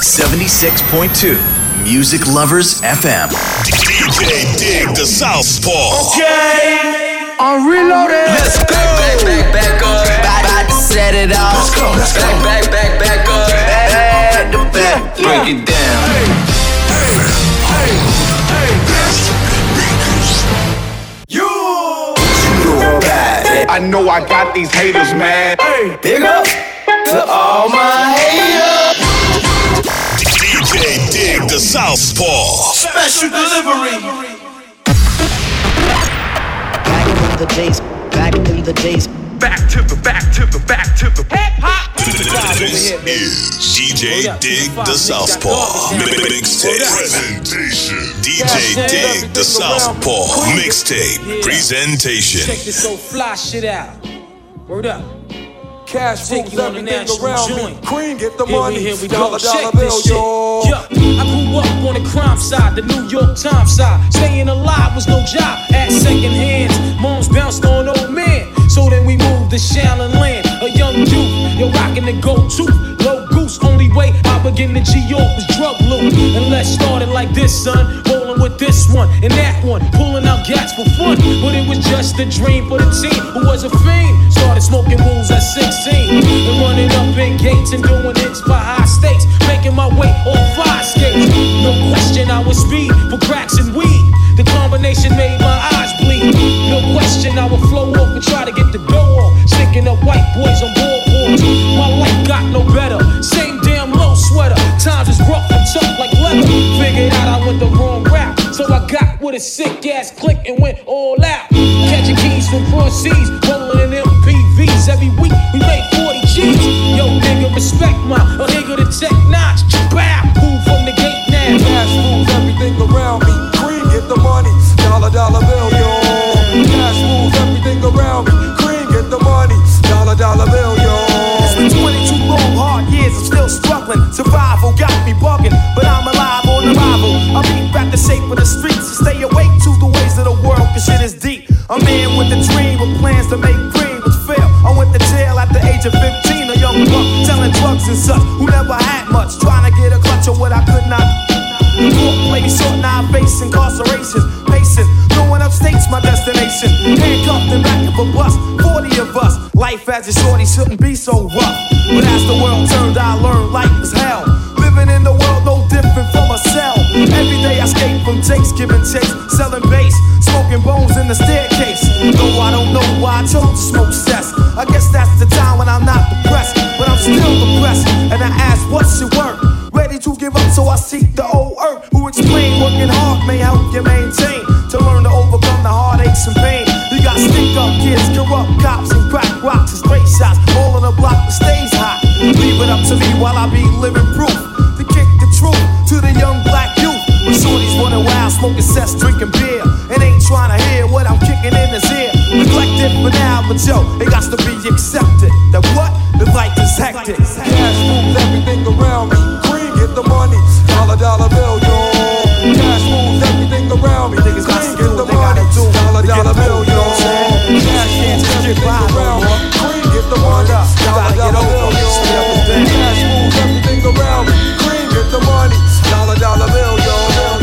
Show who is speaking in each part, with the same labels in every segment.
Speaker 1: 76.2 Music Lovers FM.
Speaker 2: DJ Dig the Southpaw.
Speaker 3: Okay, I'm reloaded.
Speaker 4: Let's go. Back up. About to set it off.
Speaker 3: Let's go.
Speaker 4: Back up. Back to back. Break it down.
Speaker 3: I know I got these haters, man.
Speaker 4: Big up to all my haters.
Speaker 2: DJ Dig the Southpaw.
Speaker 3: Special delivery.
Speaker 5: Back in the days. Back to the
Speaker 3: hip hop.
Speaker 2: This is DJ Dig the Southpaw mixtape presentation. DJ Dig the Southpaw mixtape presentation.
Speaker 6: Check this so fly shit out. Word up.
Speaker 3: Cash
Speaker 6: Take
Speaker 3: rules
Speaker 6: you on the
Speaker 3: everything
Speaker 6: national
Speaker 3: around
Speaker 6: joint.
Speaker 3: me. Cream, get the
Speaker 6: Here
Speaker 3: money.
Speaker 6: we go.
Speaker 3: Dollar
Speaker 6: Check
Speaker 3: bill,
Speaker 6: this shit.
Speaker 3: yo.
Speaker 6: Yeah, I grew up on the crime side, the New York Times side. Staying alive was no job at second hands. Moms bounced on old men. So then we moved to Shaolin Land. A young youth, you're rocking the go-to. Low goose, only way I begin to G-York was drug loot. And let's start it like this, son. Rolling with this one and that one. Pulling out gats for fun. But it was just a dream for the team who was a fiend. Started smoking wools at 16. And running up in gates and doing hits by high stakes. Making my way on fire skates. No question I was speed for cracks and weed. The combination made my eyes bleed. No question I would flow off and try to get the dough off. Sticking up white boys on boardboards. My life got no better. Same damn low sweater. Times is rough and tough like leather. Figured out I went the wrong route. So I got with a sick ass click and went all out. Catching keys from cross seas. Rolling in MPVs. Every week we made 40 G's. Yo nigga respect my nigga the tech notch. Bow. Move from the gate now.
Speaker 3: Cash rules everything around me. Cream, get the money. Dollar bill, yo. Cash rules everything around me. Cream, get the money. Dollar bill, yo.
Speaker 7: It's been 22 long, hard years, I'm still struggling. Survival got me bugging, but I'm alive on arrival. I beat back the shape of the streets and stay awake to the ways of the world, cause shit is deep. A man with a dream with plans to make green was fail. I went to jail at the age of 15, a young buck selling drugs and such, who never had much, trying to get a clutch of what I could not. Court play short, now I face incarceration. Pacing, throwing up states, my destination. Handcuffed in back of a bus, 40 of us. Life as a shorty shouldn't be so rough. But as the world turned, I learned life is hell. Living in the world no different from a cell. Every day I escape from Jake's, giving chase, selling bass, smoking bones in the staircase. Though I don't know why I chose to smoke cess. I guess that's the time when I'm not depressed, but I'm still depressed. And I ask, what's your work? Ready to give up, so I seek the old earth who explain working hard may help you maintain to learn to overcome the heartaches and pain. You got stick up kids, corrupt cops, and crack rocks and straight shots, all on the block that stays hot. Leave it up to me while I be living proof to kick the truth to the young black youth. When shorties running wild, smoking cess, drinking beer, and ain't trying to hear what I'm kicking in his ear. Neglected for now, but yo, it got to be accepted that what the life is hectic.
Speaker 3: Cash rules everything around me. Cream, get the money. Dollar bill, yo. Cash rules everything around me. Niggas got to get the money. Dollar bill, yo. Cash rules everything around me. Cream, get the money. Dollar bill, yo. Cash rules everything around me. Cream, get the money. Dollar bill, yo.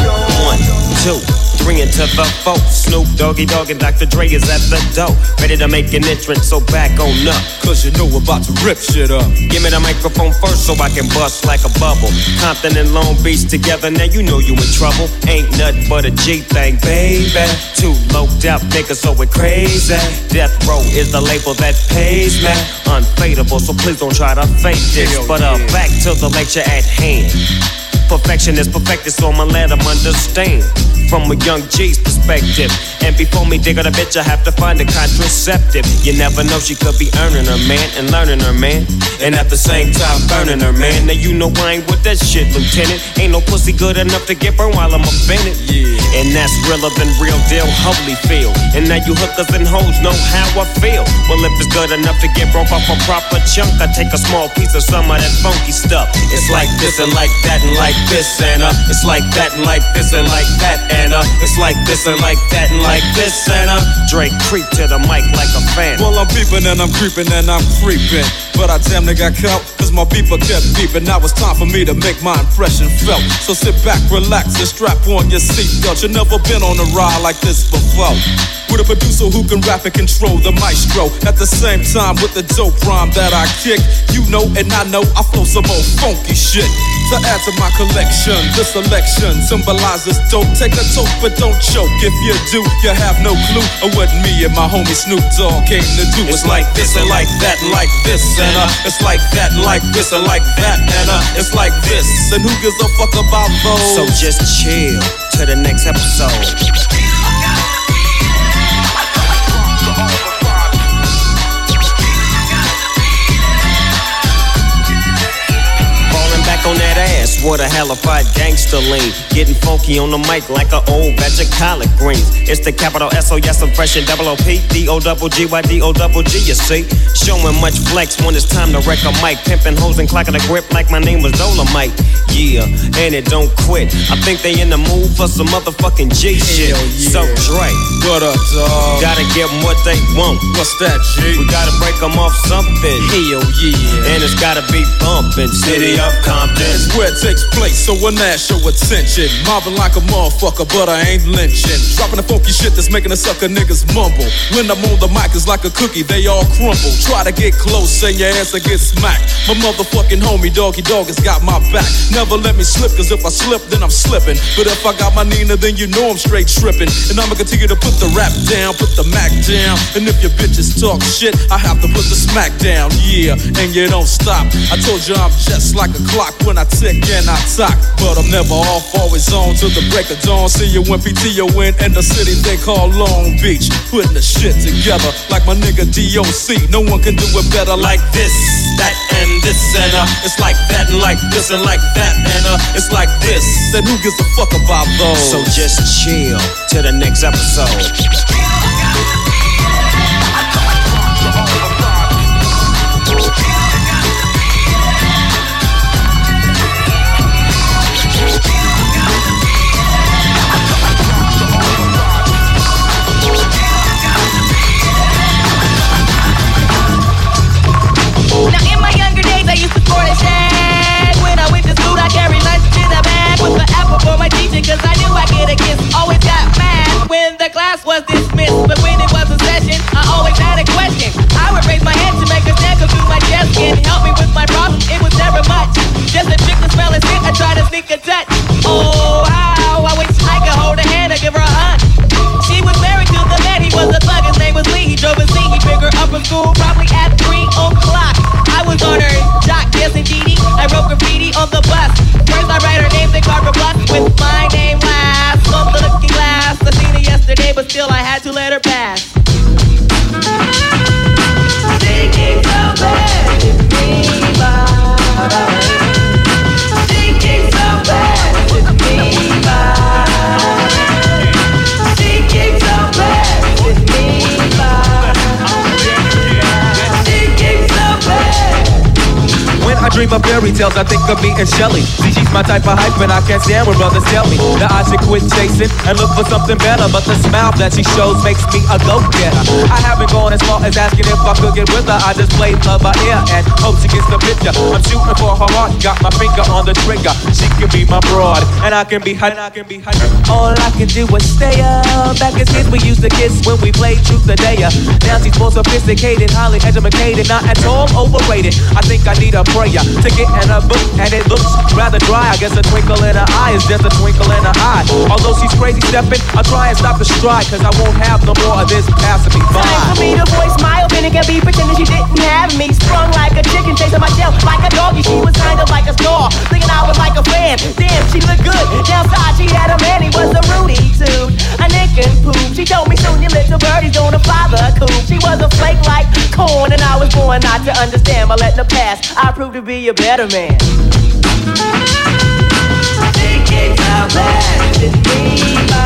Speaker 8: 1, 2, 3 into the 4. Snoop Doggy Dogg and Dr. Dre is at the door, ready to make an entrance, so back on up.
Speaker 9: Cause you know we're about to rip shit up.
Speaker 8: Give me the microphone first so I can bust like a bubble. Compton and Long Beach together, now you know you in trouble. Ain't nothing but a G thing, baby. Too loped out niggas, so it crazy. Death Row is the label that pays me. Unfadable, so please don't try to fake this. But back to the lecture at hand. Perfection is perfected, so I'ma let them understand from a young G's perspective. And before me dig on a bitch, I have to find a contraceptive. You never know, she could be earning her man and learning her man, and at the same time burning her man. Now you know I ain't with that shit, Lieutenant. Ain't no pussy good enough to get burned while I'm offended. And that's realer than real deal, Holyfield. And now you hookers and hoes know how I feel. Well, if it's good enough to get broke off a proper chunk, I take a small piece of some of that funky stuff. It's like this and like that and like this and it's like that and like this and like that and it's like this and like that and like this and Drake creep to the mic like a fan.
Speaker 9: Well, I'm peeping and I'm creeping and I'm creeping. but I damn near got caught, cause my beeper kept beeping. Now it's time for me to make my impression felt. So sit back, relax, and strap on your seatbelt. You've never been on a ride like this before. With a producer who can rap and control the maestro. At the same time with the dope rhyme that I kick. You know and I know I flow some old funky shit. To add to my collection, this selection symbolizes dope. Take a toke but don't choke. If you do, you have no clue of what me and my homie Snoop Dogg came to do. It's like this and like that and like this and it's like that and like this and like that and it's like this. And who gives a fuck about those?
Speaker 8: So just chill to the next episode. On that ass, what a halified gangster lean. Getting funky on the mic like an old batch of collard greens. It's the capital S-O-S, I'm fresh and double O-P, D-O-double-G-Y-D-O-double-G, you see. Showing much flex when it's time to wreck a mic. Pimping hoes and clocking a grip like my name was Dolomite. Yeah, and it don't quit. I think they in the mood for some motherfucking G shit. Yeah. So Dre,
Speaker 9: what up, dog?
Speaker 8: Gotta give them what they want.
Speaker 9: What's that, G?
Speaker 8: We gotta break them off something.
Speaker 9: Hell yeah.
Speaker 8: And it's gotta be bumpin'. City of Compton.
Speaker 9: It's where it takes place, so when that show attention. Mobbing like a motherfucker, but I ain't lynching. Dropping the funky shit that's making the sucker niggas mumble. When I'm on the mic, it's like a cookie, they all crumble. Try to get close, and your ass will get smacked. My motherfucking homie, Doggy Dog, has got my back. Never let me slip, cause if I slip, then I'm slipping. But if I got my Nina, then you know I'm straight tripping. And I'ma continue to put the rap down, put the Mac down. And if your bitches talk shit, I have to put the smack down. Yeah, and you don't stop. I told you I'm just like a clock when I tick and I talk. But I'm never off, always on till the break of dawn. See you when PTO in the city they call Long Beach. Putting the shit together like my nigga DOC. No one can do it better like this, that, and this, and it's like that, and like this, and like that, and it's like this. Then who gives a fuck about those?
Speaker 8: So just chill to the next episode.
Speaker 10: Now in my younger days I used to sport a shag. When I went to school I carried lunch in a bag with the apple for my teacher, cause I knew I'd get a kiss. Always got mad when the class was dismissed, but when it was a session I always had a question. I would raise my hand to make a check or through my chest and help me with my problem. It was never much, just a trick to smell and sit. I try to sneak a touch. Oh how I wish I could hold her hand or give her a hug. She was married to the man, he was a thug, his name was Lee. He drove a Z, he picked her up from school probably at 3 o'clock. I was on her jock, yes indeedy. I wrote graffiti on the bus. First I write her name, then carve her plus with my name last. On the looking glass, I seen her yesterday, but still I had to let her pass. Thinking so bad with me, thinking so bad with me, thinking so bad with me, thinking so bad.
Speaker 11: When I dream of fairy tales, I think of me and Shelly. See, she's my type of hype, and I can't stand when brothers tell me that I should quit chasing and look for something better. But the smile that she shows makes me a go-getter. I haven't gone as far as asking if I could get with her. I just played love by ear and hope she gets the picture. I'm shooting for her heart, got my finger on the trigger. She can be my broad, and I can be hot. All I can do is stay up. Back as kids, we used to kiss when we played truth or dare. Now she's more sophisticated, highly educated, not at all overrated. I think I need a prayer to get in a book, and it looks rather dry. I guess a twinkle in her eye is just a twinkle in her eye. Although she's crazy stepping, I'll try and stop the stride, cause I won't have no more of this passing me by.
Speaker 10: Time for me to voice my opinion, can be pretending she didn't have me. Sprung like a chicken, chasing my tail like a doggy. She was kind of like a star, thinking I was like a fan. Damn, she looked good. Downside, she had a man, he was a Rudy too. A nick and poop. She told me soon your little birdie's gonna fly the coop. She was a flake like corn, and I was born not to understand. By letting her pass, I proved to be a better man. Thinking so bad with me,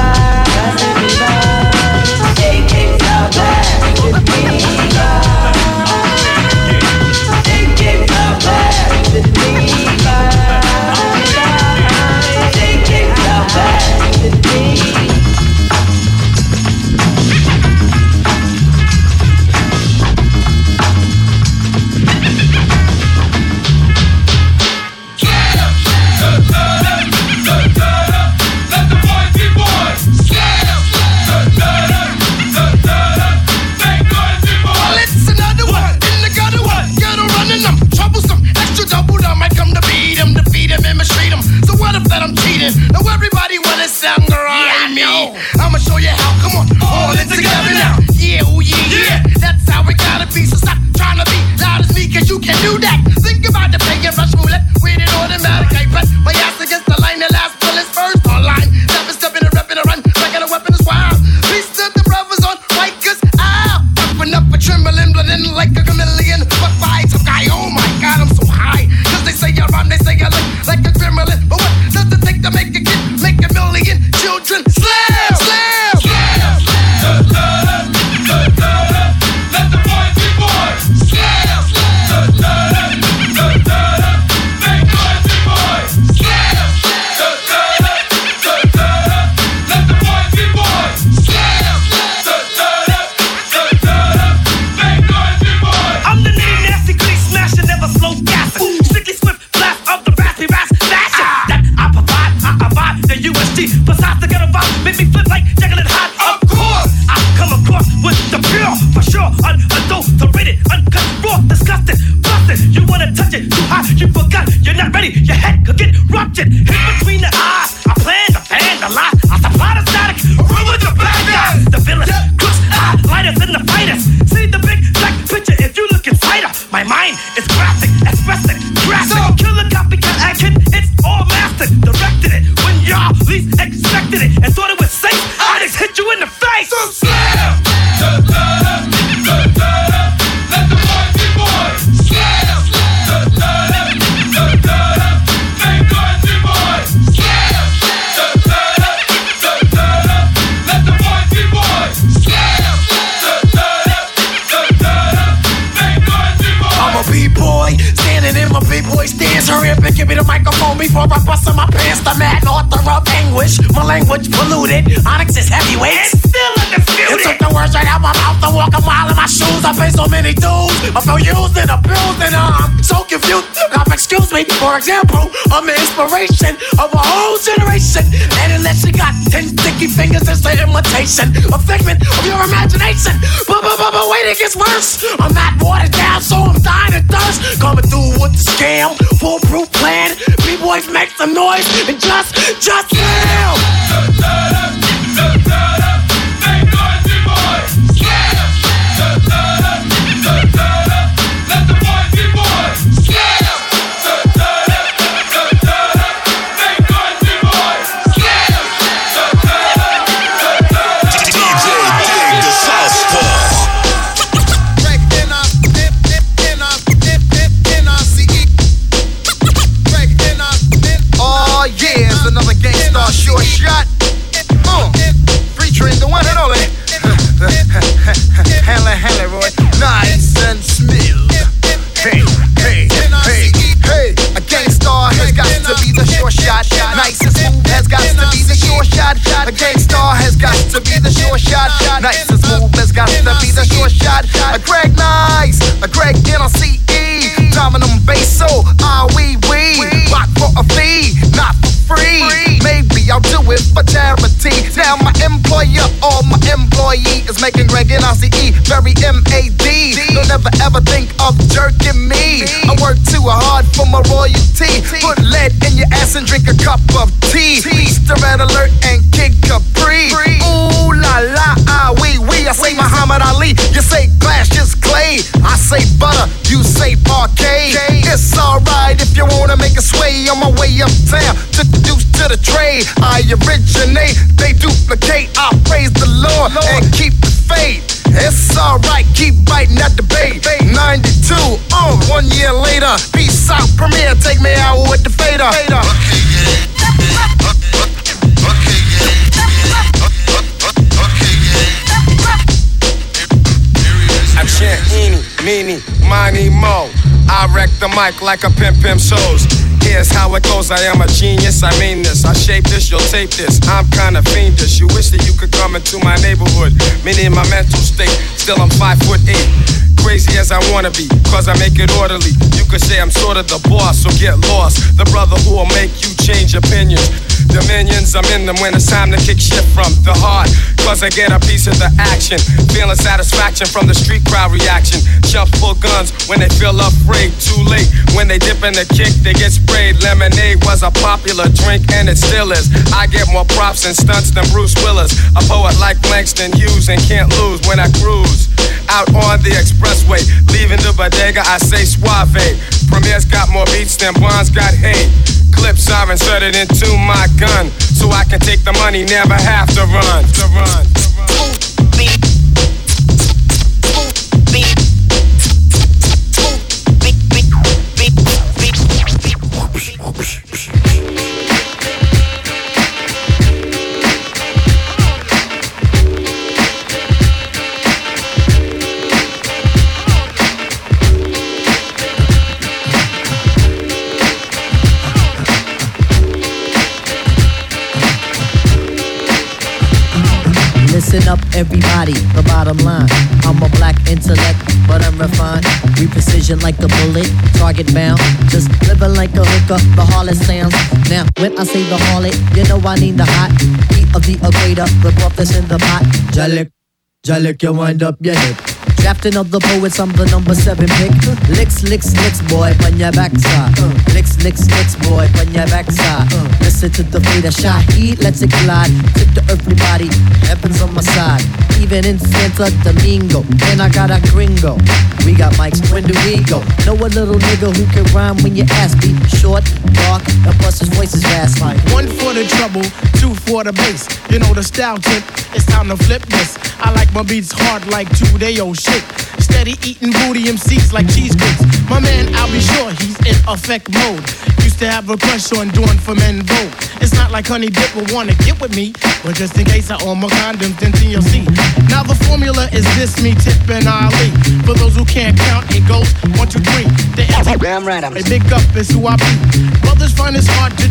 Speaker 10: thinking so bad with me, thinking so bad with me, thinking so bad with me.
Speaker 12: before I bust in my pants. The mad author of anguish. My language polluted. Onyx is heavyweight. Still undisputed. It took the words right out my mouth to walk a mile in my shoes. I pay so many dues. I feel used and abused and I'm so confused. Now, excuse me, for example, I'm the inspiration of a whole generation. And unless you got 10 sticky fingers, it's an imitation, a figment of your imagination. But wait, it gets worse. I'm not watered down, so I'm dying of thirst. Coming through with the scam, foolproof plan. B-boys make some noise and just yell.
Speaker 13: Short shot, free train, the one and only. Handle, Roy, nice and smooth. Hey, a gangstar has got to be the short shot. Nice and smooth has got to be the short shot. A gangstar has got to be the short shot. Nice and smooth has got to be the short shot. A Greg Nice, a Greg NLCE, Dominum Basso, we rock for a fee, not for free. Maybe I'll do it for charity. Now my employer or my employee is making Greg NLCE very MAD. Don't ever ever think of jerking me. I work too hard for my royalty. Put lead in your ass and drink a cup of tea. Easter Red Alert and Kid Capri. Ooh la la, we. I say Muhammad Ali, you say glass, just clay. I say butter, you say parquet. It's alright if you wanna make a sway. On my way uptown, took the deuce to the trade. I originate, they duplicate. I praise the Lord and keep the faith. It's alright, keep biting at the bait. 92, 1 year later. Peace out, Premier, take me out with the fader.
Speaker 14: I chant eeny, meeny, miny, mo. I wreck the mic like a pimp shows. Here's how it goes, I am a genius, I mean this. I shape this, you'll tape this, I'm kinda fiendish. You wish that you could come into my neighborhood. Meaning my mental state, still I'm 5'8". Crazy as I wanna be, cause I make it orderly. You could say I'm sort of the boss, so get lost. The brother who will make you change opinions. Dominions, I'm in them when it's time to kick shit from the heart. Cause I get a piece of the action. Feeling satisfaction from the street crowd reaction. Jump full guns when they feel afraid. Too late, when they dip in the kick, they get sprayed. Lemonade was a popular drink and it still is. I get more props and stunts than Bruce Willis. A poet like Langston Hughes and can't lose when I cruise out on the expressway. Leaving the bodega, I say suave. Premier's got more beats than Bonds got hate. Clips are inserted into my gun, so I can take the money, never have to run.
Speaker 5: Listen up, everybody, the bottom line. I'm a black intellect, but I'm refined. We precision like a bullet, target bound. Just living like a hooker, the harlot sounds. Now, when I say the harlot, you know I need the hot heat of the equator, the broth that's in the pot. Jalik, you wind up your hip. Drafting of the poets, I'm the number 7 pick. Licks, boy, on your backside. Licks, boy, on your backside. Listen to the fader, shot heat, let's it collide. Tip the earthly body, heaven's on my side. Even in Santo Domingo, and I got a gringo. We got mics, when do we go? Know a little nigga who can rhyme when you ask me. Short, dark, and plus his voice is raspy.
Speaker 15: 1 for the trouble, 2 for the bass. You know the style tip, it's time to flip this. I like my beats hard like 2-day-old shit. Steady eating booty MCs like cheese grits. My man, I'll be sure he's in effect mode. Used to have a crush on doing for men vote. It's not like Honey Dip will wanna get with me, but just in case I own my condoms, then TLC. Now the formula is this, me, Tip, and Ali. For those who can't count, it goes 1, 2, 3. The damn right, a big up is who I be. Brothers find it's hard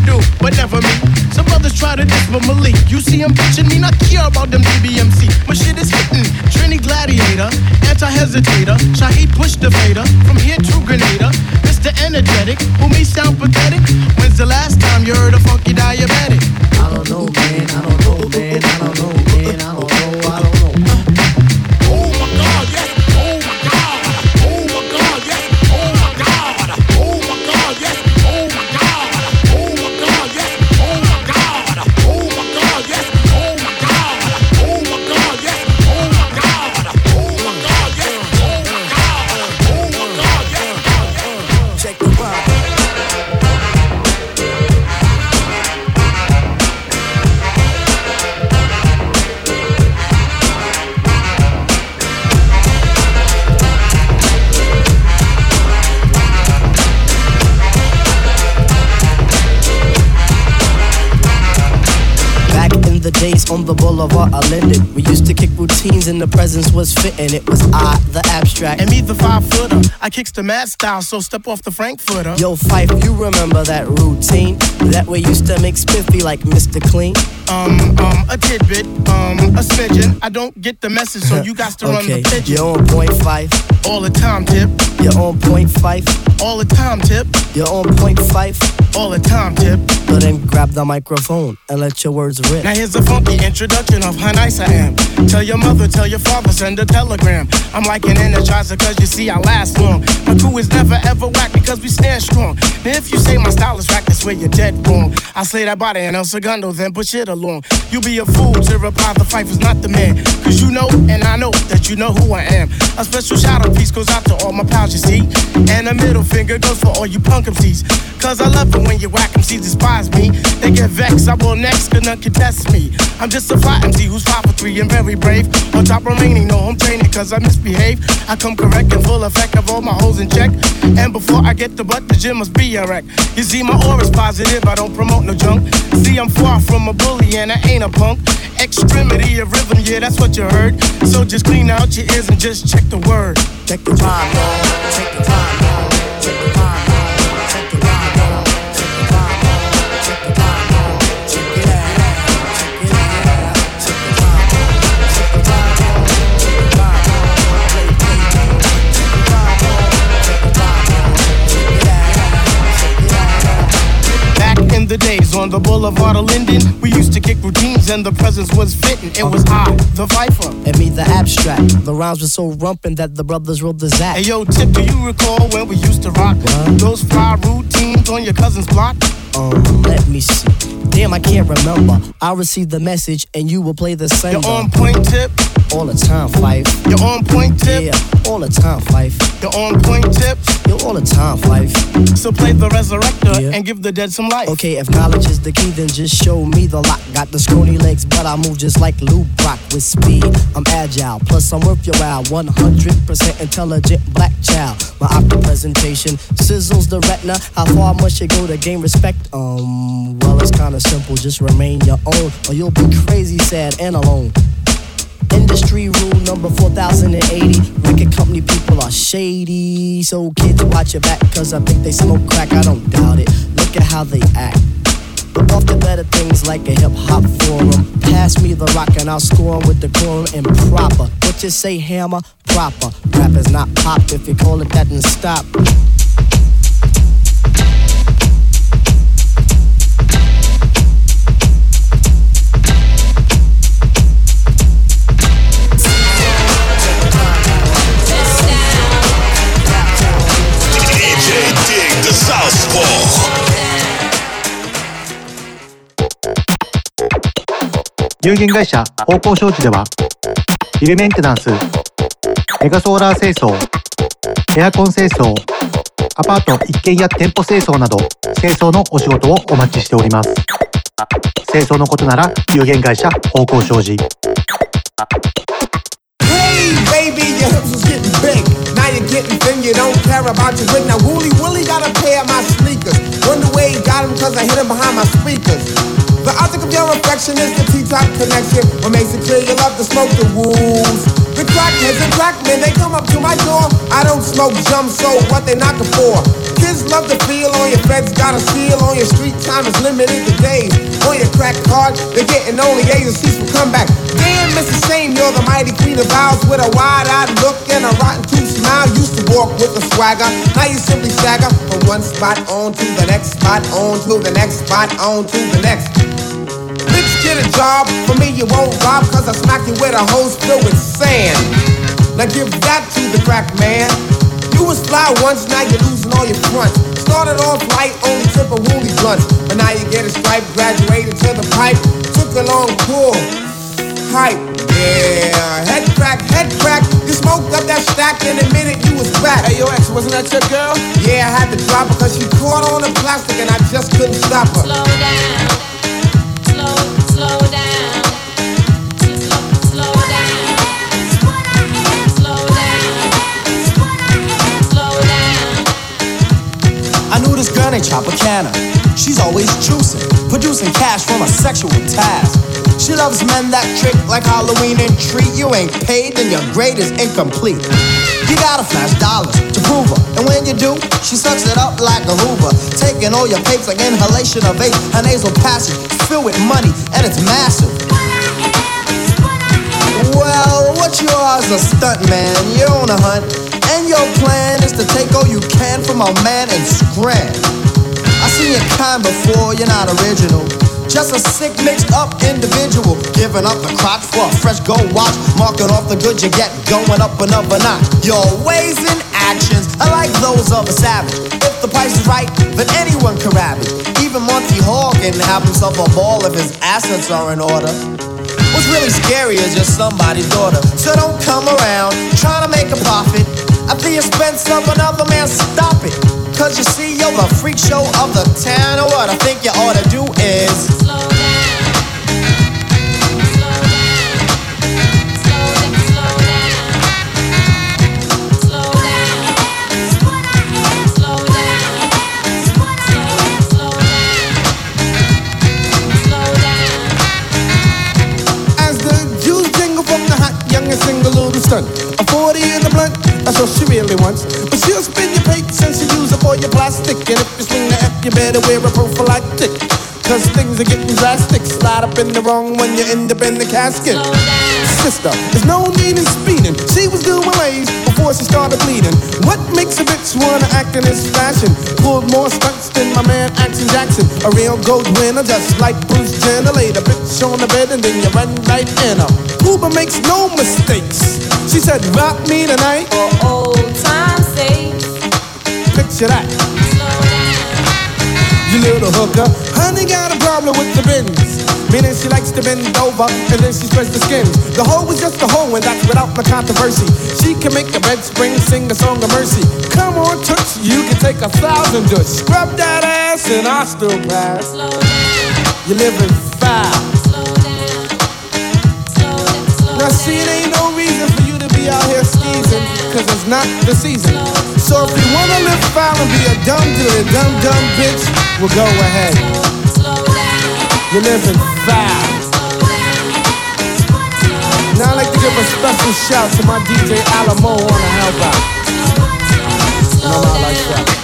Speaker 15: do, but never me. Some brothers try to diss with Malik. You see him bitching me, not care about them DBMC. My shit is hitting. Trini Gladiator, anti-hesitator. Shaheed push the Vader. From here to Grenada. Mr. Energetic, who me sound pathetic. When's the last time you heard a funky diabetic?
Speaker 5: I don't know, man. I don't know, man. I don't know, man. I don't know. I don't know.
Speaker 12: Oh my God, yes. Oh my God. Oh my God, yes. Oh my God. Oh my God, yes. Oh my God. Oh my God, yes. Oh my God. Oh my God, yes. Oh my God. Oh my God, yes. Oh my God. Oh my God, yes. Oh my God. Oh my God, yes. Check the vibe.
Speaker 5: The days on the boulevard are Linden. We used to kick routines and the presence was fitting. It was I, the abstract.
Speaker 15: And me, the 5-footer. I kicks the mad style, so step off the Frankfurter.
Speaker 5: Yo, Fife, you remember that routine? That way used to make spiffy like Mr. Clean?
Speaker 15: A tidbit, a smidgen. I don't get the message, so you got to run the pigeon.
Speaker 5: You're on point 5.
Speaker 15: All the time, Tip.
Speaker 5: You're on point 5.
Speaker 15: All the time, Tip.
Speaker 5: You're on point 5.
Speaker 15: All the time, Tip.
Speaker 5: So then grab the microphone and let your words rip.
Speaker 15: Now here's a funky introduction of how nice I am. Tell your mother, tell your father, send a telegram. I'm like an energizer cause you see I last long. My crew is never ever whack because we stand strong. Now if you say my style is whack, that's where you're dead wrong. I slay that body and El Segundo, then push it along. You be a fool to reply the fight was not the man. Cause you know and I know that you know who I am. A special shout out piece goes out to all my pals you see. And a middle finger goes for all you punk MCs. Cause I love it when you whack MCs despise me. They get vexed, I will next, cause none can test me. I'm just a fly MC who's 5'3" and very brave. On top remaining, no home training cause I misbehave. I come correct and full effect of all my hoes in check. And before I get the butt, the gym must be a wreck. You see my aura's positive, I don't promote no junk. See I'm far from a bully and I ain't a punk. Extremity of rhythm, yeah that's what you heard. So just clean out your ears and just check the word.
Speaker 5: Check the time, y'all. Check the time, y'all. Check the time, y'all. Check the time, y'all. Check the time, y'all. Check the time, y'all. Check it out. Check it out. Check the time, y'all. Check the time, y'all. Check the time, y'all. Play, play, play. Check the time, y'all. Check the time, y'all. Check it out. Check it out.
Speaker 15: Back in the days on the boulevard of Linden, we used to kick routines and the presence was fitting. It was I, the Viper.
Speaker 5: And me, the abstract. The rhymes were so rumpin' that the brothers wrote the Zach.
Speaker 15: Hey yo, Tip, do you recall when we used to rock those fly routines on your cousin's block?
Speaker 5: Let me see. Damn, I can't remember. I'll receive the message and you will play the sender.
Speaker 15: You're on point, Tip.
Speaker 5: All the time, Fife.
Speaker 15: You're on point, Tip.
Speaker 5: Yeah, all the time, Fife.
Speaker 15: You're on point, Tip.
Speaker 5: You're all the time, Fife.
Speaker 15: So play the resurrector and give the dead some life.
Speaker 5: Okay, if knowledge is the key, then just show me the lock. Got the scrawny legs, but I move just like Lou Brock with speed. I'm agile, plus I'm worth your while. 100% intelligent black child. My opera presentation sizzles the retina. How far must you go to gain respect? Well, it's kinda simple. Just remain your own, or you'll be crazy, sad, and alone. Industry rule number 4080. Record company people are shady. So kids, watch your back, cause I think they smoke crack. I don't doubt it. Look at how they act. But off the better things like a hip-hop forum. Pass me the rock and I'll score 'em with the quorum and proper. What you say, hammer? Proper. Rap is not pop. If you call it that, then stop.
Speaker 16: 有限会社方向商事ではビルメンテナンス、メガソーラー清掃、エアコン清掃、アパート一軒や店舗清掃など清掃のお仕事をお待ちしております。清掃のことなら有限会社方向商事。
Speaker 17: Hey baby, your hips was getting big. Now you're getting thin, you don't care about your wig. Now Wooly Willie got a pair of my sneakers. Wonder where he got them cause I hit him behind my speakers. The object of your affection is the T-top connection. What makes it clear you love to smoke the wolves. The crackheads and crackmen, they come up to my door. I don't smoke jump, so what they knocking for? Kids love to feel on your feds, got a seal on your street time is limited to days. On your crack card, they're getting only A's and C's for comeback. Damn, Mrs. Shame, you're the mighty queen of vows with a wide-eyed look and a rotten tooth smile. Used to walk with a swagger, now you simply stagger from one spot on to the next spot, on to the next spot, on to the next. Bitch, get a job, for me you won't rob, cause I smack you with a hose filled with sand. Now give that to the crack man. You was fly once, now you're losing all your fronts. Started off light, only tip of woolly blunts, but now you get a stripe, graduated to the pipe. Took a long pull, hype, yeah. Head crack, you smoked up that stack in a minute, you was back. Hey, yo, X, wasn't that your girl? Yeah, I had to drop her cause she caught on the plastic and I just couldn't stop her.
Speaker 18: Slow down, slow down.
Speaker 19: I knew this girl named Tropicana. She's always juicing, producing cash from a sexual task. She loves men that trick like Halloween and treat. You ain't paid, then your grade is incomplete. You gotta flash dollars to prove her, and when you do, she sucks it up like a Hoover, taking all your papes like inhalation of vape. Her nasal passage filled with money, and it's massive. Well, what you are is a stunt man. You're on a hunt, and your plan is to take all you can from a man and scram. I seen your kind before, you're not original. Just a sick, mixed up individual, giving up the crotch for a fresh gold watch, marking off the goods you get, going up another notch. Your ways and actions are like those of a savage. If the price is right, then anyone can rap it. Even Monty Hall can have himself a ball if his assets are in order. What's really scary is you're somebody's daughter, so don't come around trying to make a profit at the expense of another man. Stop it, cause you see you're the freak show of the town. Or what I think you ought to do is slow down.
Speaker 17: Single little stunt, a 40 in the blunt, that's what she really wants. But she'll spin your pates and she'll use up all your plastic. And if you swing the F, you better wear a prophylactic, cause things are getting drastic. Slide up in the wrong when you end up in the casket. Sister, there's no need in speeding. She was doing ways before she started bleeding. What makes a bitch wanna act in this fashion? Pulled more stunts than my man Action Jackson. A real gold winner, just like Bruce Jenner. Laid a bitch on the bed and then you run right in her. Cuba makes no mistakes. She said, rock me tonight
Speaker 18: for old time's sake.
Speaker 17: Picture that. You little hooker, honey got a problem with the bins, meaning she likes to bend over and then she spreads the skins. The hoe is just a hoe and that's without the controversy. She can make a bed spring, sing a song of mercy. Come on, Toots, you can take 1,000 dudes. Scrub that ass and I still pass.
Speaker 18: Slow down.
Speaker 17: You're living foul.
Speaker 18: Slow down. Slow down. Slow
Speaker 17: now see, it ain't no reason for you to be out here skeezing, cause it's not the season. So if you wanna live foul and be a dumb bitch, well go ahead. You're living foul. Now I'd like to give a special shout to my DJ Alamo on the help out. No, not like that.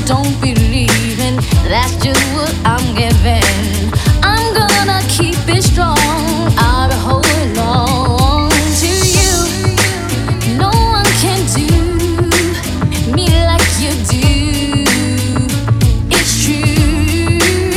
Speaker 18: don't believe in. That's just what I'm giving. I'm gonna keep it strong. I'll be holding on to you. No one can do me like you do. It's true.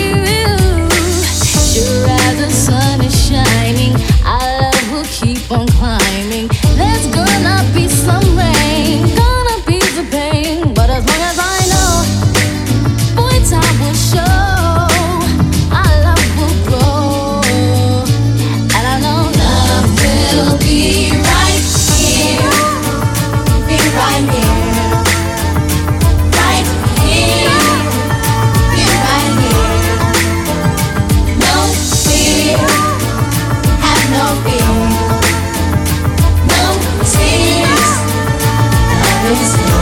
Speaker 18: Sure as the sun is shining, our love will keep on climbing. There's gonna be some rain, gonna be the pain, but as long as I know, boy, time will show. Our love will grow, and I know love will be right here, be right here, right here, be right here. No fear, have no fear, no tears. Love is here.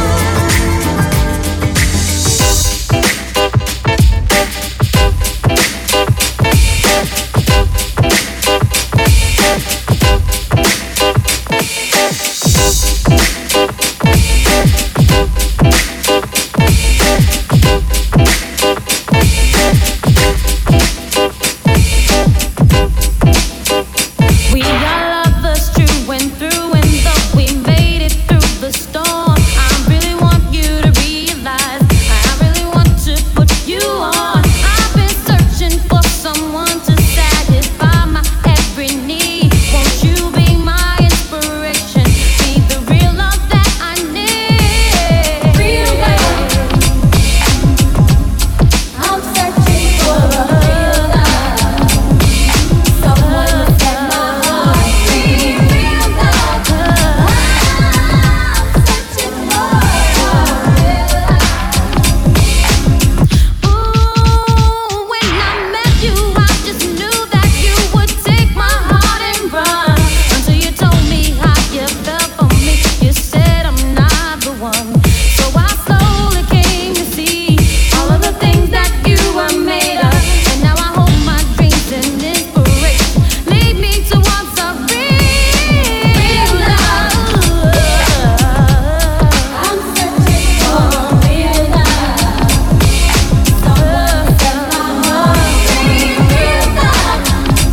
Speaker 18: We are lovers true and through, and though we made it through the storm, I really want you to realize, I really want to put you on. I've been searching for someone to satisfy my every need. Won't you be my inspiration? Be the real love that I need. Real love. I'm searching for a real love. Someone to set my heart free. Real love. I'm searching for a real love. Ooh, when I met you, I just knew that you would take my heart and run. Until you told me how you felt for me. You said I'm not the one. So I slowly came to see all of the things that you were made of. And now I hold my dreams and inspiration lead me towards a real love. I'm searching for a real love. Someone to set my heart free. Real love.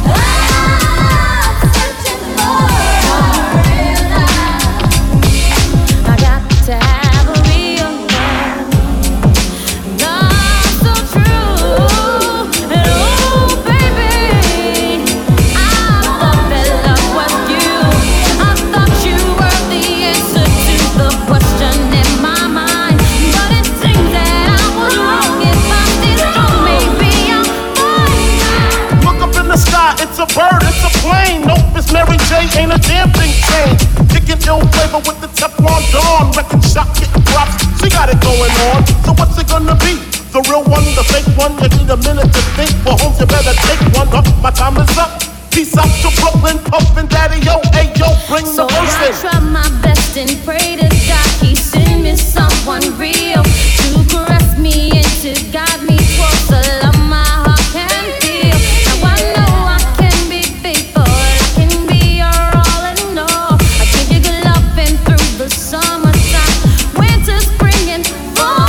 Speaker 18: I'm searching for a real love. I got to have a real love. Love so true. And oh, baby, I thought that love was you. I thought you were the answer to the question in my mind. But it seems that I was wrong. If I did wrong, maybe I'm fine.
Speaker 7: Look up in the sky, it's a bird, it's a plane. Nope, it's Mary J, ain't a damn thing changed. Kicking ill flavor with the Teflon Dawn. Wrecking shot, getting props, she got it going on. So what's it gonna be? The real one, the fake one? You need a minute to think. For homes, you better take one. My time is up. Peace out to Brooklyn, Puffin' Daddy, yo, hey, yo, bring
Speaker 18: So
Speaker 7: the verse
Speaker 18: I
Speaker 7: in.
Speaker 18: try my best and pray to God He send me someone real to caress me and to guide me towards the love my heart can feel. Now I know I can be faithful, I can be your all in all. I give you good loving through the summertime, winter, spring, and fall.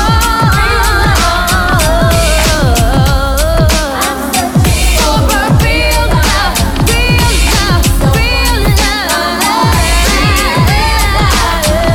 Speaker 18: I'm searching for a real love, real love, real love.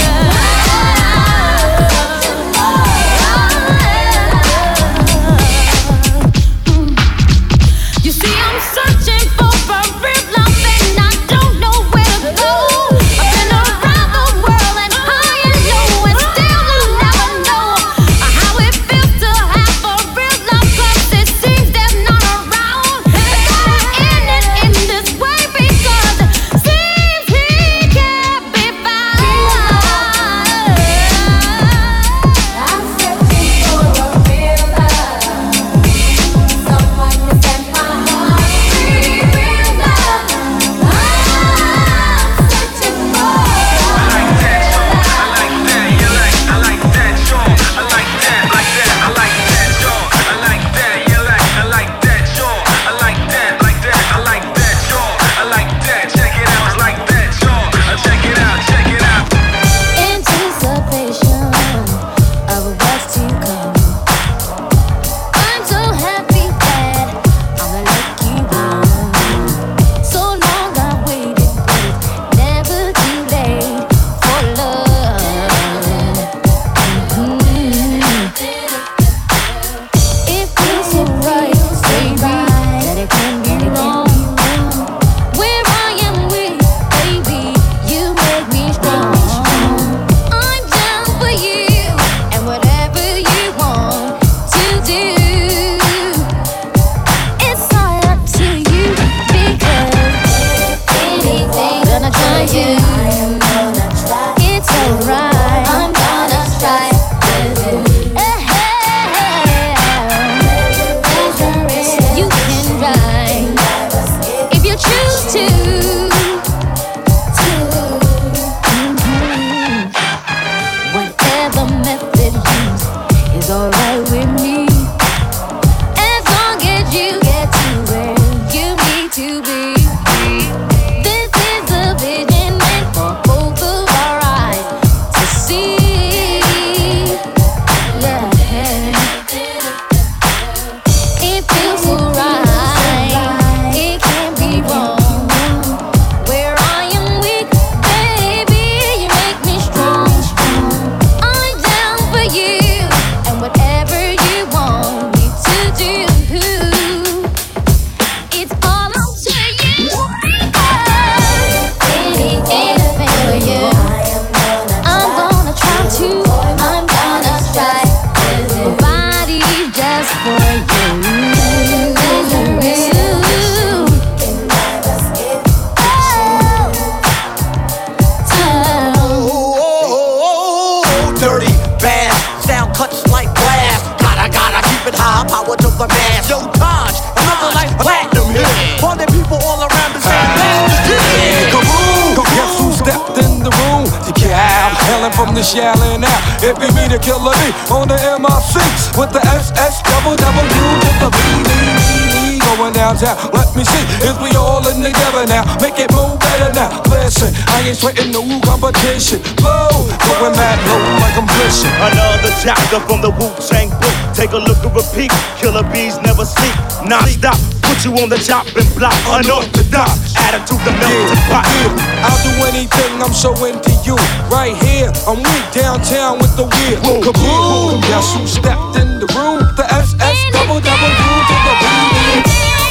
Speaker 12: dirty, bad, sound cuts like blast. Gotta keep it high, power to the mass. Yo, Taj, another like platinum hit. All the people all around the same place.
Speaker 3: Kaboom! Guess who stepped in the room? The cab, hailing from the Shaolin out. It be me, the killer me, on the MI6 with the SS double to the BD. Going downtown, let me see if we all in together now. Make it move better now. Listen, I ain't sweating no competition. Blow, going mad low like I'm glitching.
Speaker 20: Another chapter from the Wu-Tang book. Take a look and repeat. Killer bees never sleep. Non-stop, put you on the chopping block. Unorthodox, attitude the melting pot.
Speaker 3: I'll do anything, I'm so into you. Right here, I'm weak downtown with the wheel. Kaboom! Guess who stepped in the room? The SS double to the BD.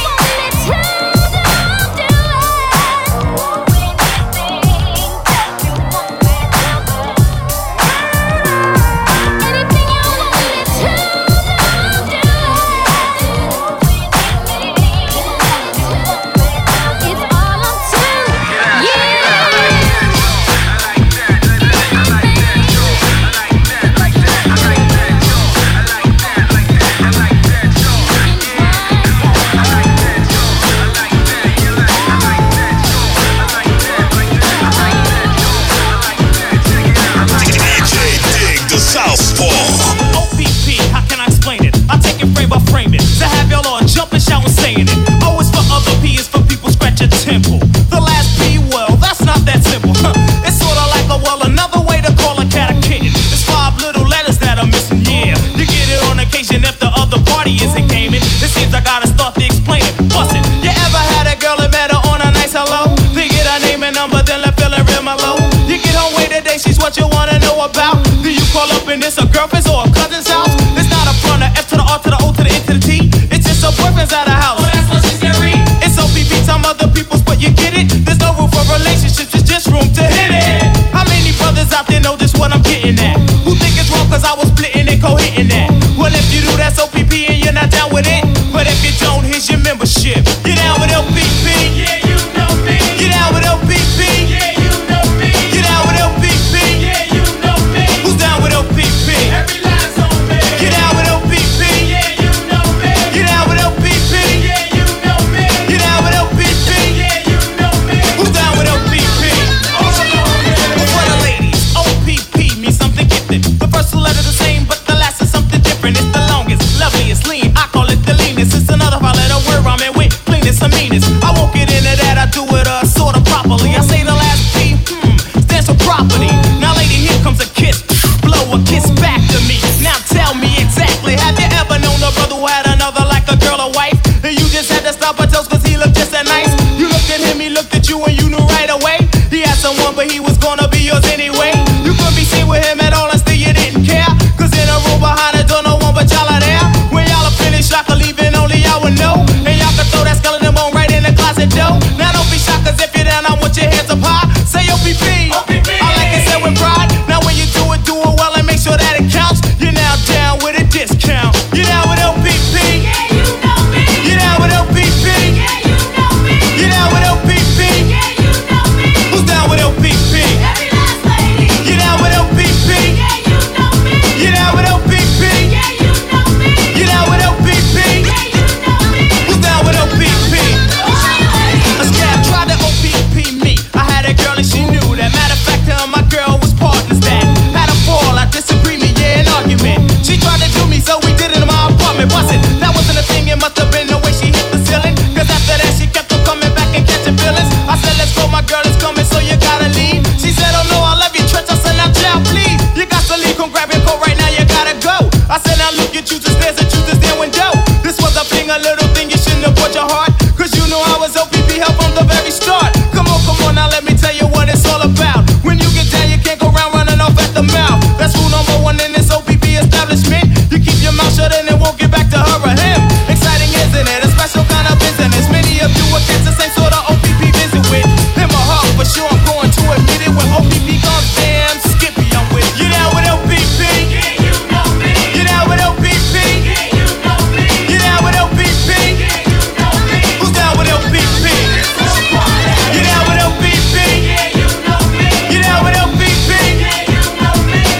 Speaker 6: Temple. The last P, well, that's not that simple. It's sorta like another way to call a cat a kitten. It's 5 little letters that are missing, yeah. You get it on occasion if the other party isn't gaming. It seems I gotta start to explain it. Bust it. You ever had a girl that met her on a nice hello? They get her name and number, then let feeling real mellow. You get home way today, she's what you wanna know about. Do you call up in this a girlfriend's or a cousin's house? It's not a front, a F to the R to the O to the N to the T. It's just a boyfriend's at a house. Oh, that's what she's getting. It's OPP, some other people's, but you get it. There's no room for relationships, it's just room to hit it. How many brothers out there know just what I'm getting at? Who think it's wrong cause I was splitting and co-hitting that? Well, if you do, that's OPP and you're not down with it. But if you don't, here's your membership. You down with LPP? Yeah, you know me. You down with LPP? Yeah, you know me. You down with LPP? Yeah, you know me. Who's down with LPP? Every last on me. You down with LPP? Yeah, you know me. You down with LPP? Yeah, you know me. You down with LPP? Yeah, you know me. Who's down with LPP? For the ladies, OPP means something gifted. The first 2 letters the same, but the last is something different. It's the longest, loveliest, lean. I call it the leanest. It's another 5-letter word rhyming with cleanest and meanest. I won't get into that, I do it sorta properly. I say the last P, stands for property. Now lady, here comes a kiss. Blow a kiss back to me. Now tell me exactly, have you ever known a brother who had another like a girl or wife? And you just had to stop her toes cause he looked just that nice? You looked at him, he looked at you and you knew right away. He had someone but he was gonna be yours anyway. You couldn't be seen with him at all and still you didn't care. Cause in a room behind the door no one but y'all are there. When y'all are finished, y'all can leave and only y'all would know. And y'all can throw that skeleton bone right in the closet door. Now don't be shocked cause if you're down I want your hands up high. Say OPP, I like it said with pride. Now when you do it well and make sure that it counts. You're now down with a discount. You're down with LPP. Yeah, you know me. You're down with LPP. Yeah, you know me. You're down with LPP. Yeah, you know me. Who's down with LPP? Every last lady. You're down with LPP. Yeah, you know me. You're down with LPP. Yeah, you know me. You're down with LPP. Yeah, you know me. Who's down with LPP? A scab tried to OPP me. I had a girl and she knew that. Matter of fact, her and my girl was partners that had a fall, a disagreement, yeah, an argument. She tried to do me, so we did it in my apartment. Was it? That wasn't a thing, it must have been the way she hit the ceiling. Cause after that, she kept on coming back and catching feelings. I said, let's go, my girl is coming, so you gotta leave. She said, oh no, I love you, Trench. I said, now, child, please. You got to leave, come grab your coat right now, you gotta go. I said, now look, you choose the stairs and choose this damn window. This was a thing, a little thing, you shouldn't have put your heart. Cause you know I was OPP help from the very start. Come on, now let me tell you what it's all about. When you get down, you can't go around running off at the mouth. That's rule number 1 in this OPP establishment. You keep your mouth shut and it won't get back to her or him. Exciting, isn't it? A special kind of business. Many of you against the same sort of OPP visit with him or her. For sure, I'm going to admit it. When OPP comes, damn Skippy, I'm with you. Down with LPP? Yeah, you know me. You down with LPP? Yeah, you know me. You down with LPP? Yeah, you know me. Who's down with LPP? You down with LPP? Yeah, you know me. You down with LPP? Yeah, you know me.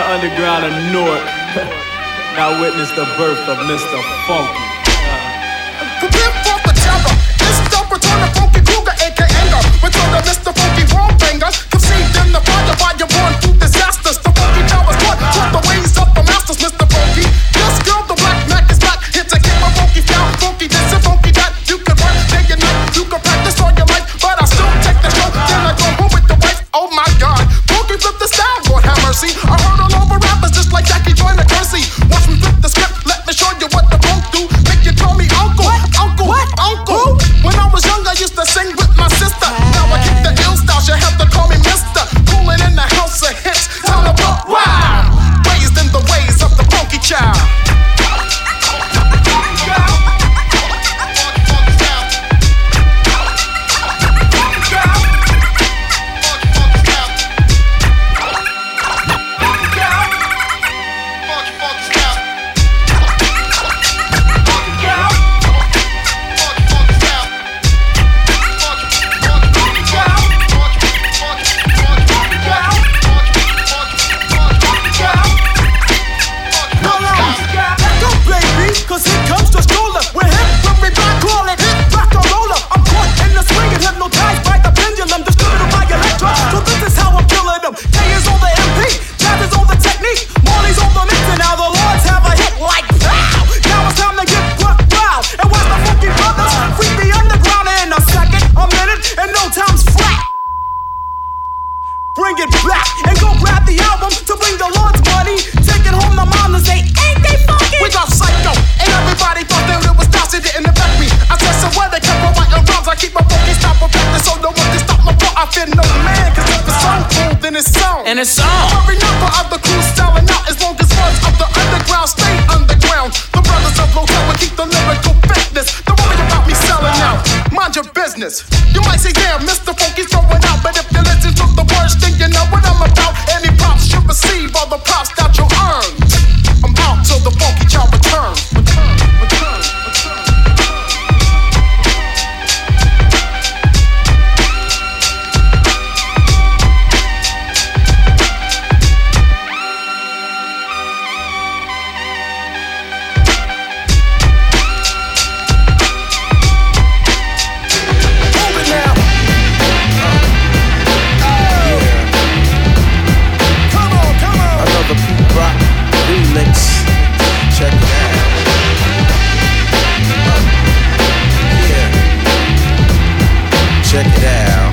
Speaker 11: underground of Newark. Now witness the birth of Mr. Funky.
Speaker 12: Prepare for the terror. It's the return of Funky Kruger, aka Anger. Return of Mr. Funky Warbanger. Conceived in the fire by your born through disasters. The Funky Towers taught the ways of the masters, Mr. Funky. This girl, the black Mac is back. Here to keep my funky style, funky this and funky that. You can work day and night, you can practice all your life, but I still take the show. Then I go home with the wife. Oh my God, Funky flip the style, Lord have mercy. I heard all over rappers just like Jackie joined the Kersey. Watch me flip the script, let me show you what the funk do. Make you call me uncle, uncle, uncle. When I was young, I used to sing with my sister. Now I keep the ill style, you have to call me Mister. Coolin' in the house of hits, time to pop wild. Raised in the ways of the funky child. Bring it back and go grab the album to bring the Lord's money. Taking home the mom and say, ain't they funky? We got psycho, and everybody thought that it was Dossie didn't affect me. I said, so where they kept on writing rhymes, I keep my funky style perfected, so no one can stop my flow. I fear no man, cause if it's so cool, then it's on. And it's on. Every number of the crew selling out as long as words of the underground stay underground. The brothers of Lotel will keep the lyrical fitness. Don't worry about me selling out. Mind your business. You might say, damn, Mr. Funky's going out, but if you listen to the words, then you know what I'm about. Any props you receive, all the props that you earn. I'm out till the funky child returns.
Speaker 21: Check it out. Yeah. Check it out.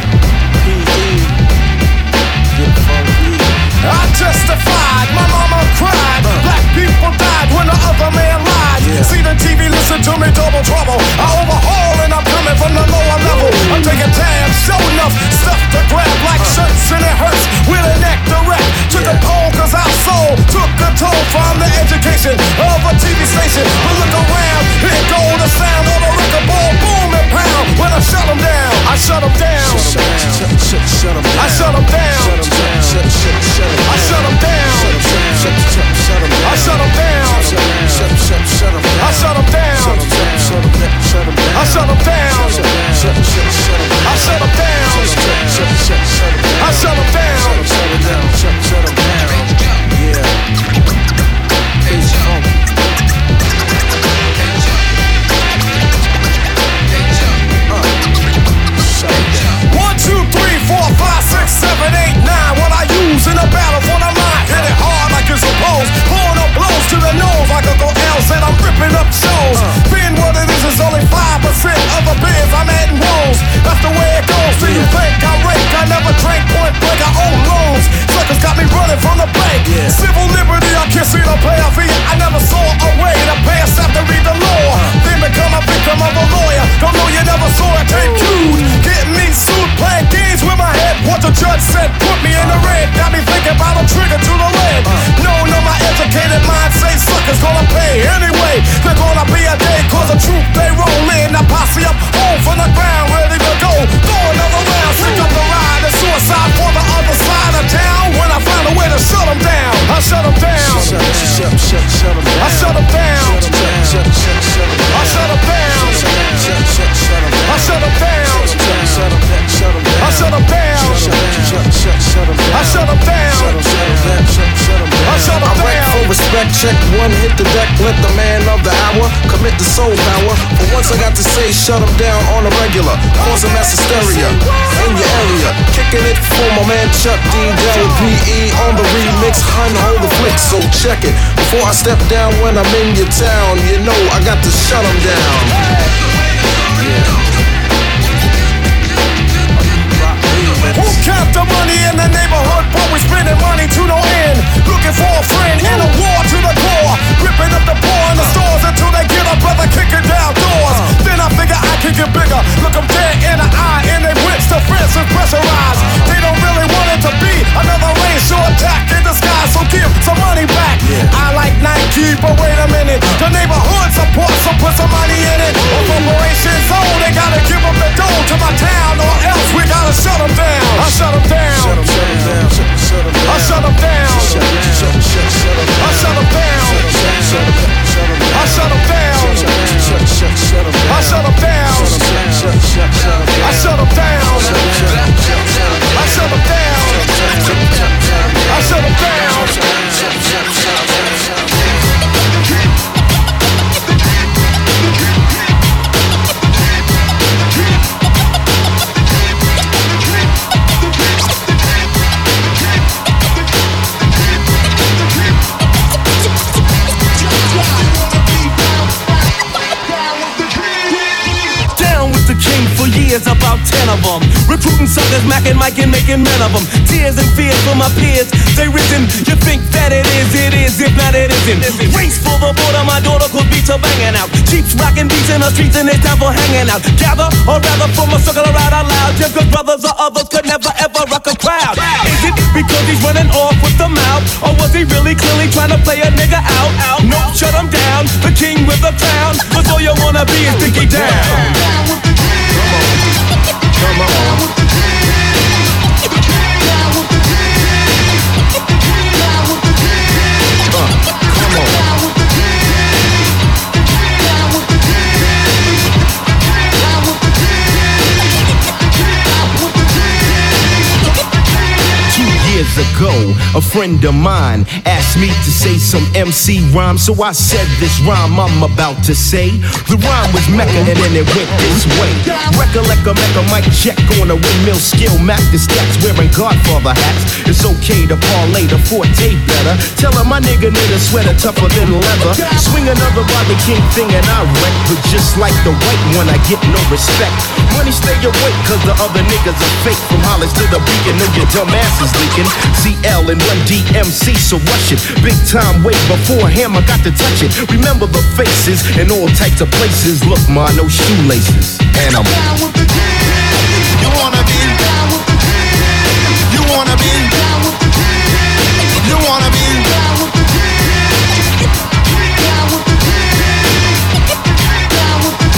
Speaker 12: I testified, my mama cried. Black people died when the other man lied. See the TV, listen to me, double trouble. I overhaul and I'm coming from the lower level. I'm taking tabs, show enough stuff to grab like shirts and it hurts with a neck direct to the pole, cause our soul took a toll from the education of a TV station. But look around, here go the sound of a record ball, boom and pound. When I shut them down, I shut them down. I shut them down. I shut them down. I shut them down. I shut them down. I shut them down. I shut them down. I shut them down. Yeah.
Speaker 1: check one, hit the deck, let the man of the hour commit the soul power. For once I got to say, shut him down on a regular, cause a mass hysteria in your area. Kicking it for my man Chuck D. P.E. on the remix, hun, hold the flick, so check it. Before I step down when I'm in your town, you know I got to shut him down.
Speaker 7: Who count the money in the neighborhood, but we spending money to no end? Looking for a friend in a war to the core, ripping up the poor in the stores until they get a brother kicking down doors. Then I figure I can get bigger, look them dead in the eye, and they whips the fence and pressurized. They don't really want it to be another racial attack in the sky, so give some money back. I like Nike, but wait a minute, the neighborhood supports, so put some money in it. A corporation's own, they gotta give up the dough to my town, or else we gotta shut them down. I shut them down. I shut them down. I shut them down. I shut them down. I shut them down. I shut them down. I shut them down. I shut them
Speaker 11: years, about 10 of them. Recruiting suckers, macking, micing, making men of them. Tears and fears for my peers, they risen. You think that it is, if not it isn't. Race for the border, my daughter could beat her banging out. Cheeks rocking beats in the streets and it's time for hanging out. Gather, or rather form a circle around out loud. Just cause brothers or others could never ever rock a crowd. Is it because he's running off with the mouth? Or was he really clearly trying to play a nigga out? No, shut him down, the king with the crown. Cause all you wanna be is Dickie down. Come on. Years ago, a friend of mine asked me to say some MC rhyme, so I said this rhyme I'm about to say. The rhyme was Mecca and then it went this way. Recollect a Mecca mic check on a windmill skill. Mac the stats wearing Godfather hats. It's okay to parlay the forte better. Tell her my nigga need a sweater tougher than leather. Swing another Bobby King thing and I wreck. But just like the white one, I get no respect. Money stay awake cause the other niggas are fake. From Hollis to the beacon, know your dumb ass is leaking. CL and 1DMC, so rush it. Big time way before him, I got to touch it. Remember the faces in all types of places. Look, ma, no shoelaces. And I'm down with the king. You wanna be down with the king. You wanna be down with the king. You wanna be down with the king. Down with the king. Down with the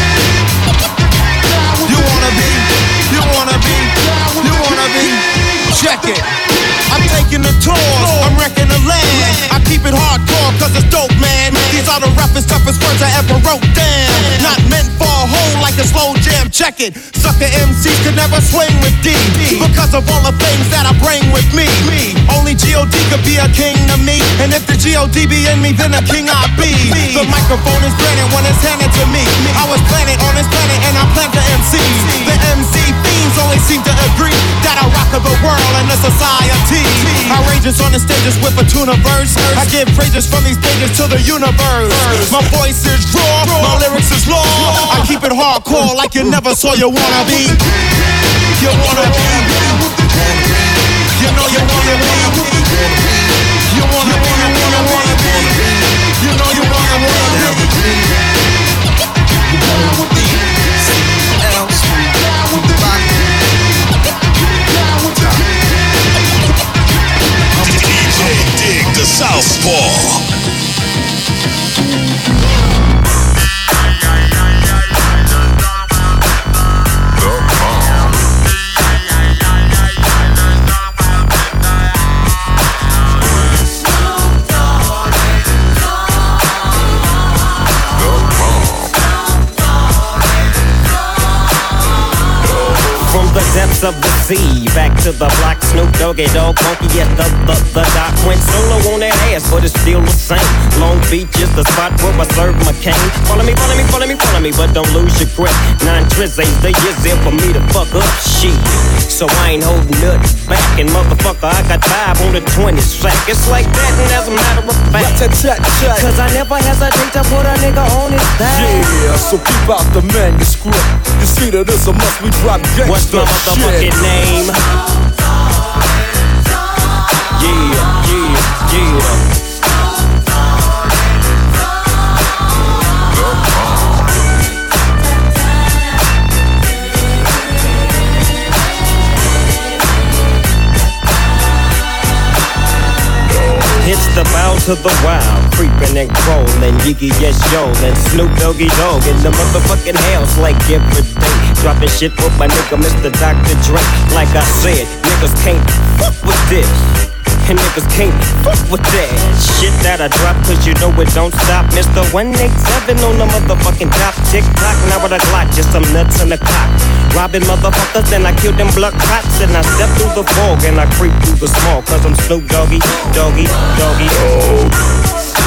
Speaker 11: king. You wanna be, you wanna be, you wanna be. Check it. I'm taking the tour, I'm wrecking the land. I keep it hardcore cause it's dope, man. These are the roughest, toughest words I ever wrote down. Not meant for a hole like a slow jam, check it. Sucker MCs could never swing with D because of all the things that I bring with me. Only G.O.D. could be a king to me, and if the G.O.D. be in me, then a king I be. The microphone is granted when it's handed to me. I was planted on this planet and I plant the MCs. The MC fiends only seem to agree that I rock the world and the society. Outrageous on the stages with a tuna verse. I give praises from these stages to the universe. My voice is raw, my lyrics is law. I keep it hardcore like you never saw you wanna be. You wanna be. You know you wanna be. You wanna be, you wanna be. You know you wanna be.
Speaker 2: DJ Dig the Southpaw.
Speaker 8: parts of the sea. Back to the block, Snoop Doggy Dogg, funky at the dock. Went solo on that ass, but it's still the same. Long Beach is the spot where I serve my cane. Follow me, but don't lose your grip. 9 tris ain't the years there for me to fuck up shit. So I ain't holding nothing back. And motherfucker, I got 5 on the 20 sack. It's like that, and as a matter of fact, cause I never hesitate to put a nigga on his back.
Speaker 3: Yeah, so keep out the manuscript. You see that it's a must we drop gangsta.
Speaker 8: What's my motherfucking name? Yeah. It's the bow to the wild, creeping and crawling, Yiggy yes yo, and Snoop Doggy Dogg in the motherfucking house like every day. Dropping shit with my nigga Mr. Dr. Dre. Like I said, niggas can't fuck with this, and niggas can't fuck with that shit that I drop, cause you know it don't stop. Mr. 187 on the motherfucking top. Tick tock, now with a Glock, just some nuts in the cock. Robbing motherfuckers, then I kill them blood cops. And I step through the fog and I creep through the small, cause I'm Snoop Doggy, Doggy, Doggy, oh.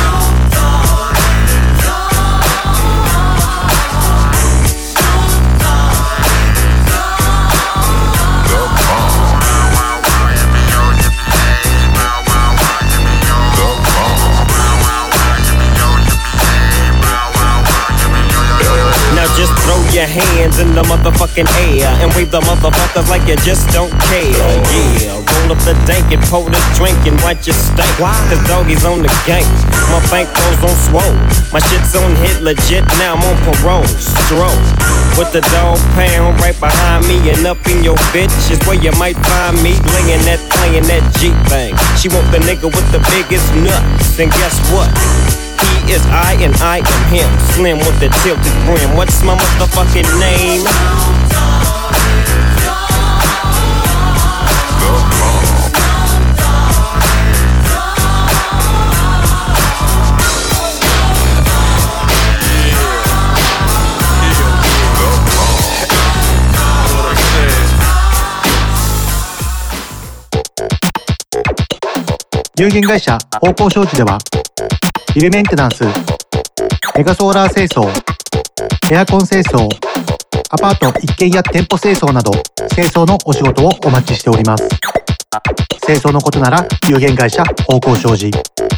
Speaker 8: Just throw your hands in the motherfucking air and wave the motherfuckers like you just don't care. Yeah, roll up the dank and pour the drink and watch your stank. Cause doggies on the gang, my bankroll's on swole. My shit's on hit legit, now I'm on parole. Stroll with the dog pound right behind me, and up in your bitch is where you might find me. Playing that G thing. She want the nigga with the biggest nuts, and guess what? He is I and I am him. Slim with the tilted brim. What's my motherfucking name?
Speaker 16: 有限会社方向商事ではビルメンテナンス、メガソーラー清掃、エアコン清掃、アパート一軒や店舗清掃など清掃のお仕事をお待ちしております。清掃のことなら有限会社方向商事。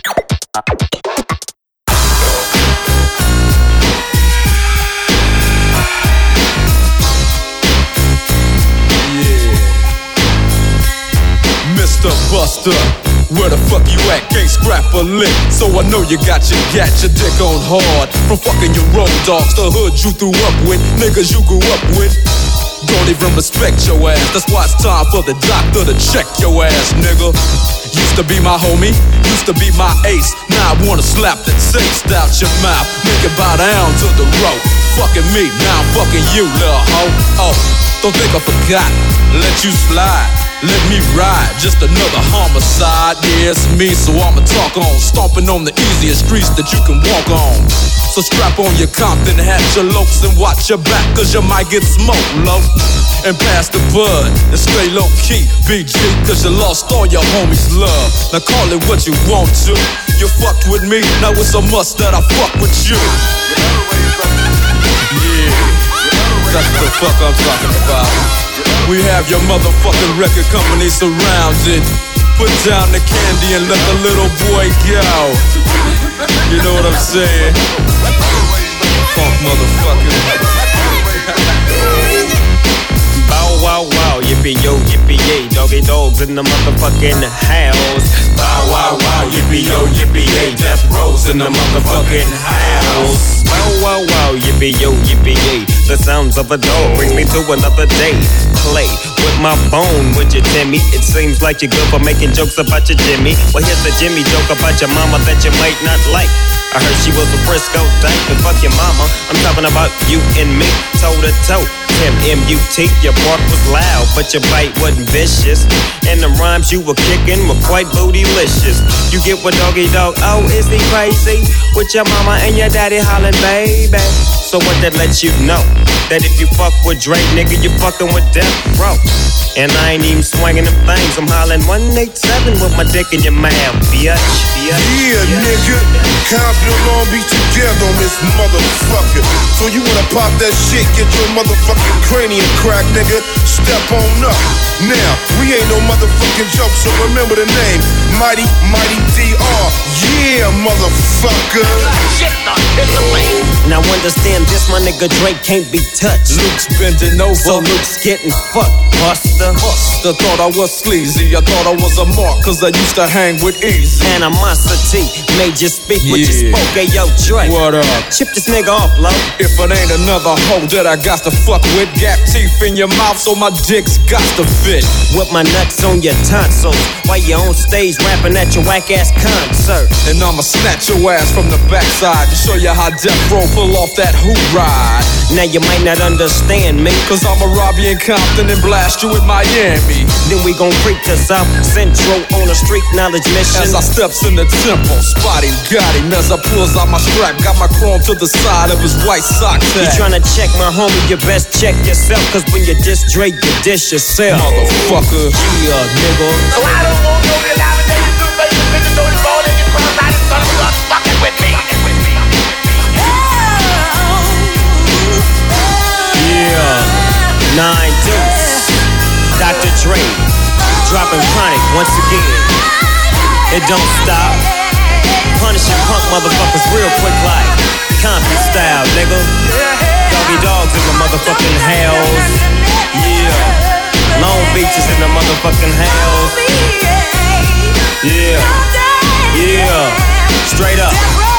Speaker 9: Mr. Buster, where the fuck you at? Can't scrap a lick, so I know you got your dick on hard. From fucking your road dogs, the hood you threw up with, niggas you grew up with. Don't even respect your ass, that's why it's time for the doctor to check your ass, nigga. Used to be my homie, used to be my ace. Now I wanna slap the taste out your mouth, make it bow down to the rope. Fucking me, now I'm fucking you, little hoe. Oh, don't think I forgot, let you slide. Let me ride, just another homicide. Yeah, it's me, so I'ma talk on. Stomping on the easiest streets that you can walk on. So strap on your Compton hat, your lokes, and watch your back, cause you might get smoked, low. And pass the bud, and stay low key, BG, cause you lost all your homies' love. Now call it what you want to. You fucked with me, now it's a must that I fuck with you. Yeah, that's what the fuck I'm talking about. We have your motherfucking record company surrounded. Put down the candy and let the little boy go. You know what I'm saying? Funk motherfucker. Bow wow wow, yippee yo, yippee yay. Doggy dogs in the motherfucking house. Bow wow wow, yippee yo, yippee yay. Death Row's in the motherfucking house. Bow wow wow, yippee yo, yippee yay. The sounds of a dog bring me to another day. Play with my bone, would you, Timmy? It seems like you're good for making jokes about your Jimmy. Well, here's the Jimmy joke about your mama that you might not like. I heard she was a Frisco dyke, but fuck your mama. I'm talking about you and me, toe to toe.
Speaker 8: Tim M-U-T, your bark was loud, but your bite wasn't vicious. And the rhymes you were kicking were quite bootylicious. You get what doggy dog, oh, is he crazy? With your mama and your daddy hollering, baby. So what that lets you know? That if you fuck with Dre, nigga, you fucking with Death Row. And I ain't even swinging them things. I'm hollering 187 with my dick in your mouth, bitch.
Speaker 4: Yeah, nigga. Compton, Long Beach together on this motherfucker. So you wanna pop that shit, get your motherfucking cranium cracked, nigga. Step on up. Now, we ain't no motherfucking joke, so remember the name. Mighty DR. Yeah, motherfucker.
Speaker 8: Now understand this, my nigga Drake can't be touched.
Speaker 9: Luke's bending over.
Speaker 8: So Luke's getting fucked, buster.
Speaker 9: Thought I was sleazy. I thought I was a mark, cause I used to hang with Easy.
Speaker 8: Animosity made you speak what you spoke. Hey, yo, Drake.
Speaker 9: What up?
Speaker 8: Chip this nigga off, low.
Speaker 9: If it ain't another hoe that I got to fuck with, gap teeth in your mouth so my dick's got to fit.
Speaker 8: With my nuts on your tonsils while you on stage rapping at your whack ass concert.
Speaker 9: And I'ma snatch your ass from the backside to show you how Death Row pull off that hoop ride.
Speaker 8: Now you might not understand me,
Speaker 9: cause I'ma rob you in Compton and blast you in Miami.
Speaker 8: Then we gon' creep to South Central on a street knowledge mission.
Speaker 9: As I steps in the temple, spotty got him as I pulls out my strap. Got my chrome to the side of his white sock tag.
Speaker 8: You tryna check my homie, you best check yourself, cause when you diss Drake, you dish yourself.
Speaker 9: Motherfucker.
Speaker 8: Yeah, nigga.
Speaker 12: So I don't want no real life, and you do make the bitches don't fall in your cross. I just thought you was fucking with me.
Speaker 8: Yeah, 9 Deuce, Dr. Dre, dropping chronic once again. It don't stop. Punishing punk motherfuckers real quick like Compton style, nigga. Doggy dogs in the motherfucking house. Yeah, Long Beach is in the motherfucking house. Yeah, straight up.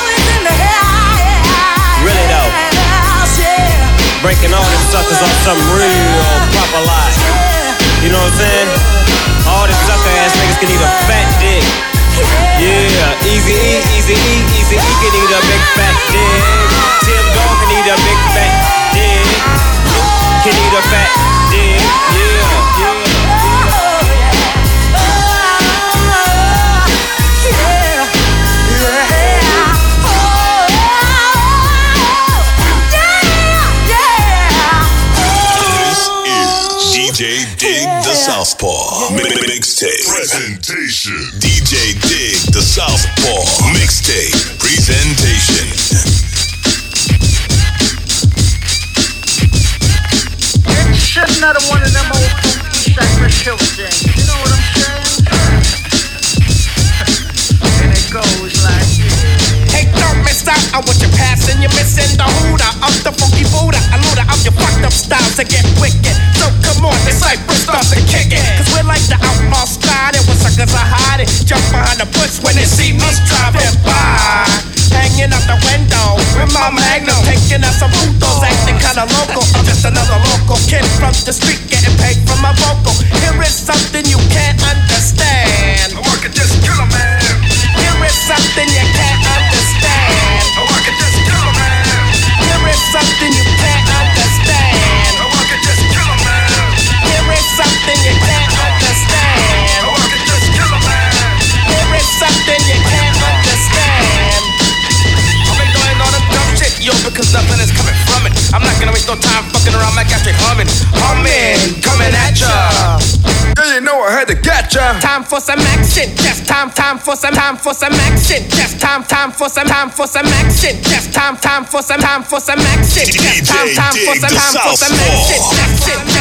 Speaker 8: Really though. Breaking all them suckers on some real proper life. You know what I'm saying? All them sucker ass niggas can eat a fat dick. Yeah, Easy E can eat a big fat dick. Tim Dog can eat a big fat dick. Luke can eat a fat dick. Yeah.
Speaker 2: DJ Dig the Southpaw Mixtape Presentation. DJ Dig the Southpaw Mixtape Presentation.
Speaker 22: It's shit another one of them old funky Cypress Hill things. You know what I'm saying? And it goes like this.
Speaker 12: Hey, don't miss out on what you're passing. You're missing the hooter of the funky Buddha. A looter of your fucked up style to get wicked. So come on, this Cypress starts to kick it. Cause we're like the outlaw style. When suckers are hiding, jump behind the bush when they see us driving by. Hanging out the window with my magnum, taking out some putos, acting kinda local. I'm just another local kid from the street, getting paid for my vocal. Here is something you can't understand.
Speaker 4: I could just kill a man.
Speaker 12: Here is something you can't understand.
Speaker 4: I could just kill a man.
Speaker 12: Here is something you can't understand.
Speaker 4: I could just kill a man.
Speaker 12: Here is something you can't understand.
Speaker 4: I could just kill a man.
Speaker 12: Here is something you can't understand.
Speaker 23: I've been doing all the dumb shit, yo, because nothing is coming from it. I'm not gonna waste no time fucking around my gas straight humming. Coming at ya.
Speaker 4: Yeah, you know I had to get ya.
Speaker 12: Time for some action. Just time for some action. Just time for some action. Just time for some action. Just time for some action.